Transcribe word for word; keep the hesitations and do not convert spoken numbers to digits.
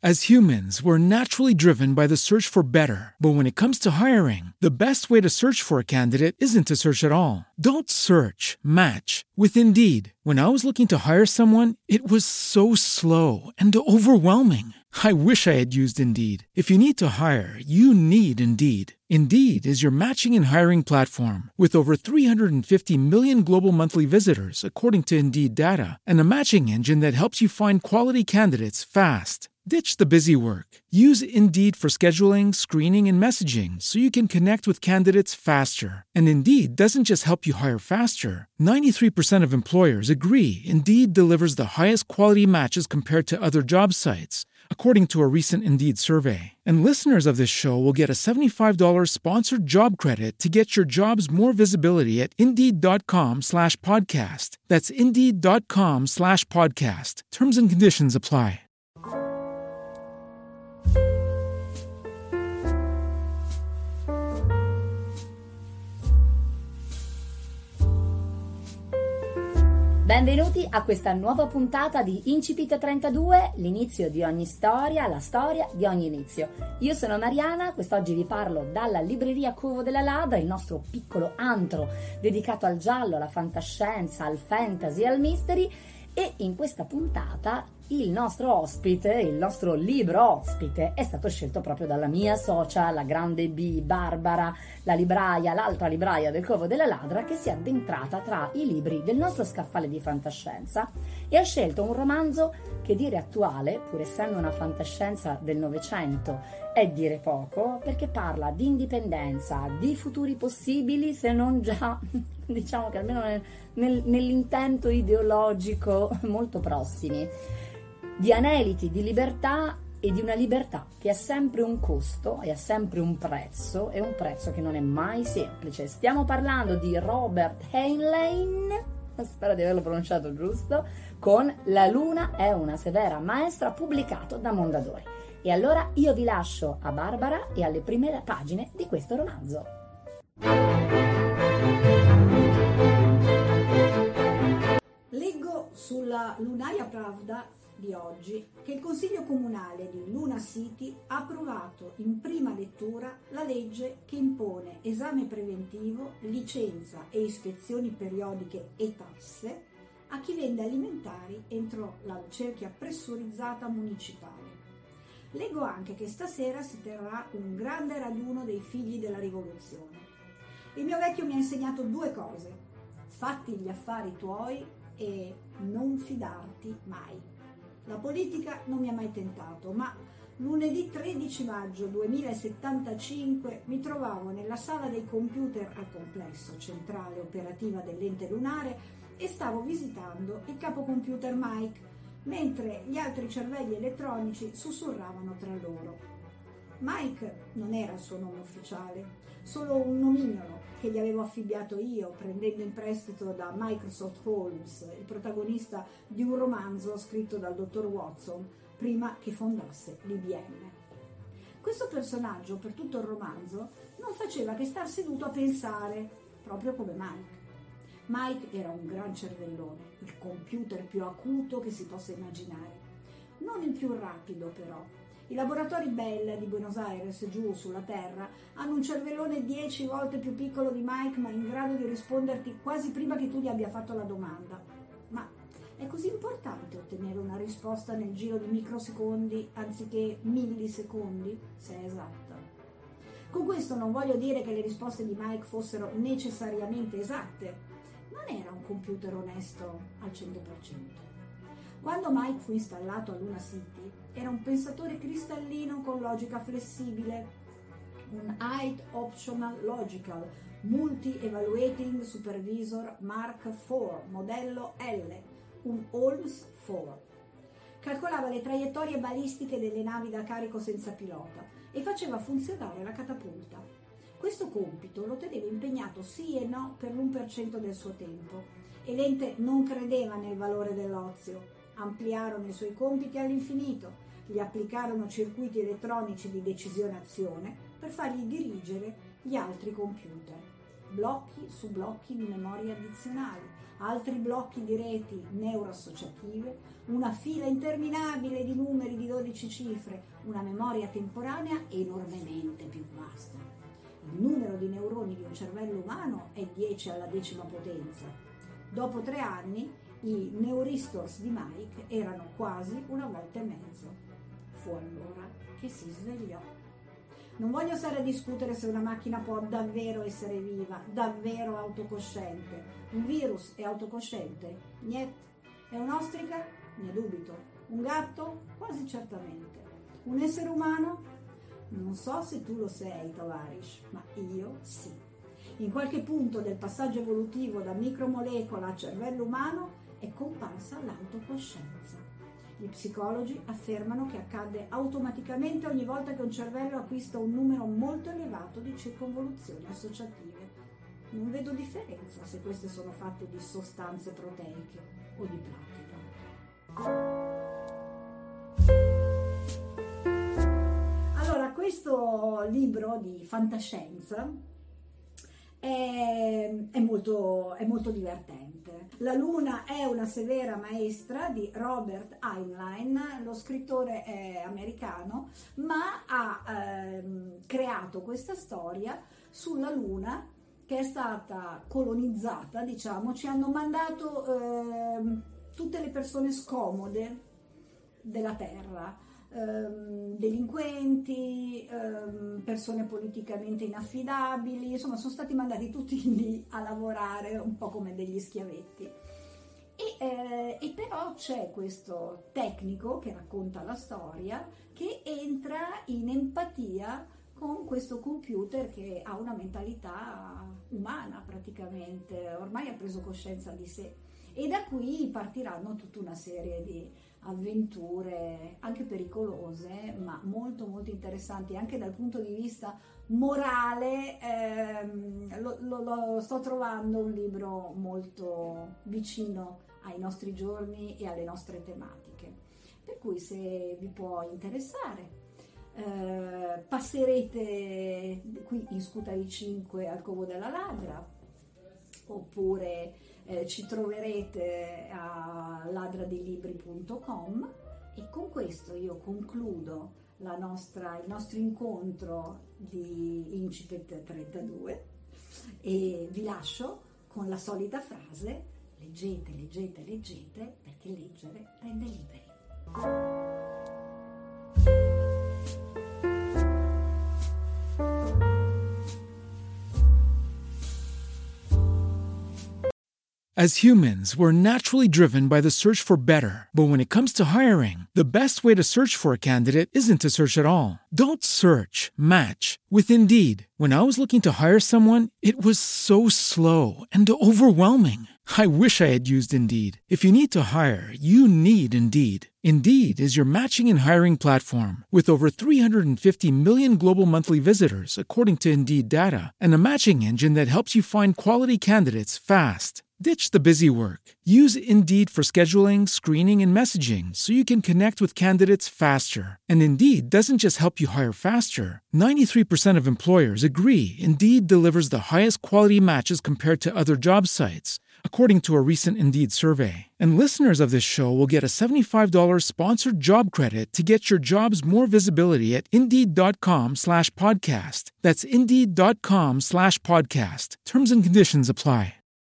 As humans, we're naturally driven by the search for better. But when it comes to hiring, the best way to search for a candidate isn't to search at all. Don't search, match with Indeed. When I was looking to hire someone, it was so slow and overwhelming. I wish I had used Indeed. If you need to hire, you need Indeed. Indeed is your matching and hiring platform with over three hundred fifty million global monthly visitors, according to Indeed data, and a matching engine that helps you find quality candidates fast. Ditch the busy work. Use Indeed for scheduling, screening, and messaging so you can connect with candidates faster. And Indeed doesn't just help you hire faster. ninety-three percent of employers agree Indeed delivers the highest quality matches compared to other job sites, according to a recent Indeed survey. And listeners of this show will get a seventy-five dollars sponsored job credit to get your jobs more visibility at Indeed.com slash podcast. That's Indeed.com slash podcast. Terms and conditions apply. Benvenuti a questa nuova puntata di Incipit trentadue, l'inizio di ogni storia, la storia di ogni inizio. Io sono Mariana, quest'oggi vi parlo dalla libreria Covo della Ladra, il nostro piccolo antro dedicato al giallo, alla fantascienza, al fantasy, al mystery, e in questa puntata il nostro ospite, il nostro libro ospite è stato scelto proprio dalla mia socia, la grande B, Barbara, la libraia, l'altra libraia del Covo della Ladra, che si è addentrata tra i libri del nostro scaffale di fantascienza e ha scelto un romanzo che dire attuale, pur essendo una fantascienza del Novecento, è dire poco, perché parla di indipendenza, di futuri possibili, se non già, diciamo che almeno nel, nel, nell'intento ideologico molto prossimi, di aneliti, di libertà e di una libertà che ha sempre un costo e ha sempre un prezzo, e un prezzo che non è mai semplice. Stiamo parlando di Robert Heinlein, spero di averlo pronunciato giusto, con La luna è una severa maestra, pubblicato da Mondadori. E allora io vi lascio a Barbara e alle prime pagine di questo romanzo. Leggo sulla Lunaria Pravda di oggi che il Consiglio Comunale di Luna City ha approvato in prima lettura la legge che impone esame preventivo, licenza e ispezioni periodiche e tasse a chi vende alimentari entro la cerchia pressurizzata municipale. Leggo anche che stasera si terrà un grande raduno dei figli della rivoluzione. Il mio vecchio mi ha insegnato due cose: fatti gli affari tuoi e non fidarti mai. La politica non mi ha mai tentato, ma lunedì tredici maggio duemilasettantacinque mi trovavo nella sala dei computer al complesso centrale operativa dell'ente lunare e stavo visitando il capocomputer Mike, mentre gli altri cervelli elettronici sussurravano tra loro. Mike non era il suo nome ufficiale, solo un nomignolo che gli avevo affibbiato io prendendo in prestito da Microsoft Holmes, il protagonista di un romanzo scritto dal dottor Watson prima che fondasse l'I B M. Questo personaggio per tutto il romanzo non faceva che star seduto a pensare, proprio come Mike. Mike era un gran cervellone, il computer più acuto che si possa immaginare. Non il più rapido però. I laboratori Bell di Buenos Aires, giù sulla Terra, hanno un cervellone dieci volte più piccolo di Mike, ma in grado di risponderti quasi prima che tu gli abbia fatto la domanda. Ma è così importante ottenere una risposta nel giro di microsecondi anziché millisecondi, se è esatta? Con questo non voglio dire che le risposte di Mike fossero necessariamente esatte. Non era un computer onesto al cento per cento. Quando Mike fu installato a Luna City, era un pensatore cristallino con logica flessibile, un Height Optional Logical Multi-Evaluating Supervisor Mark quattro, modello L, un Holmes quattro. Calcolava le traiettorie balistiche delle navi da carico senza pilota e faceva funzionare la catapulta. Questo compito lo teneva impegnato sì e no per l'uno per cento del suo tempo, e l'ente non credeva nel valore dell'ozio. Ampliarono i suoi compiti all'infinito, gli applicarono circuiti elettronici di decisione-azione per fargli dirigere gli altri computer. blocchi su blocchi di memoria addizionali, altri blocchi di reti neuroassociative, una fila interminabile di numeri di dodici cifre, una memoria temporanea enormemente più vasta. Il numero di neuroni di un cervello umano è dieci alla decima potenza. Dopo tre anni i neuristors di Mike erano quasi una volta e mezzo. Fu allora che si svegliò. Non voglio stare a discutere se una macchina può davvero essere viva, davvero autocosciente. Un virus è autocosciente? Niet. È un'ostrica? Ne dubito. Un gatto? Quasi certamente. Un essere umano? Non so se tu lo sei, Tovarish, ma io sì. In qualche punto del passaggio evolutivo da micromolecola a cervello umano è comparsa l'autocoscienza. Gli psicologi affermano che accade automaticamente ogni volta che un cervello acquista un numero molto elevato di circonvoluzioni associative. Non vedo differenza se queste sono fatte di sostanze proteiche o di platino. Allora, questo libro di fantascienza È, è, molto, è molto divertente. La Luna è una severa maestra di Robert Heinlein. Lo scrittore è americano, ma ha ehm, creato questa storia sulla Luna che è stata colonizzata, diciamo. Ci hanno mandato ehm, tutte le persone scomode della Terra. Um, delinquenti, um, persone politicamente inaffidabili, insomma sono stati mandati tutti lì a lavorare un po' come degli schiavetti. E, eh, e però c'è questo tecnico che racconta la storia, che entra in empatia con questo computer che ha una mentalità umana praticamente, ormai ha preso coscienza di sé, e da qui partiranno tutta una serie di avventure anche pericolose, ma molto molto interessanti anche dal punto di vista morale. ehm, lo, lo, lo sto trovando un libro molto vicino ai nostri giorni e alle nostre tematiche, per cui se vi può interessare eh, passerete qui in Scutari cinque al Covo della Ladra, oppure Eh, ci troverete a ladradilibri punto com. E con questo io concludo la nostra, il nostro incontro di Incipit trentadue e vi lascio con la solita frase: leggete, leggete, leggete, perché leggere rende liberi. As humans, we're naturally driven by the search for better. But when it comes to hiring, the best way to search for a candidate isn't to search at all. Don't search, match with Indeed. When I was looking to hire someone, it was so slow and overwhelming. I wish I had used Indeed. If you need to hire, you need Indeed. Indeed is your matching and hiring platform with over three hundred fifty million global monthly visitors, according to Indeed data, and a matching engine that helps you find quality candidates fast. Ditch the busy work. Use Indeed for scheduling, screening, and messaging so you can connect with candidates faster. And Indeed doesn't just help you hire faster. ninety-three percent of employers agree Indeed delivers the highest quality matches compared to other job sites, according to a recent Indeed survey. And listeners of this show will get a seventy-five dollars sponsored job credit to get your jobs more visibility at Indeed.com slash podcast. That's Indeed.com slash podcast. Terms and conditions apply.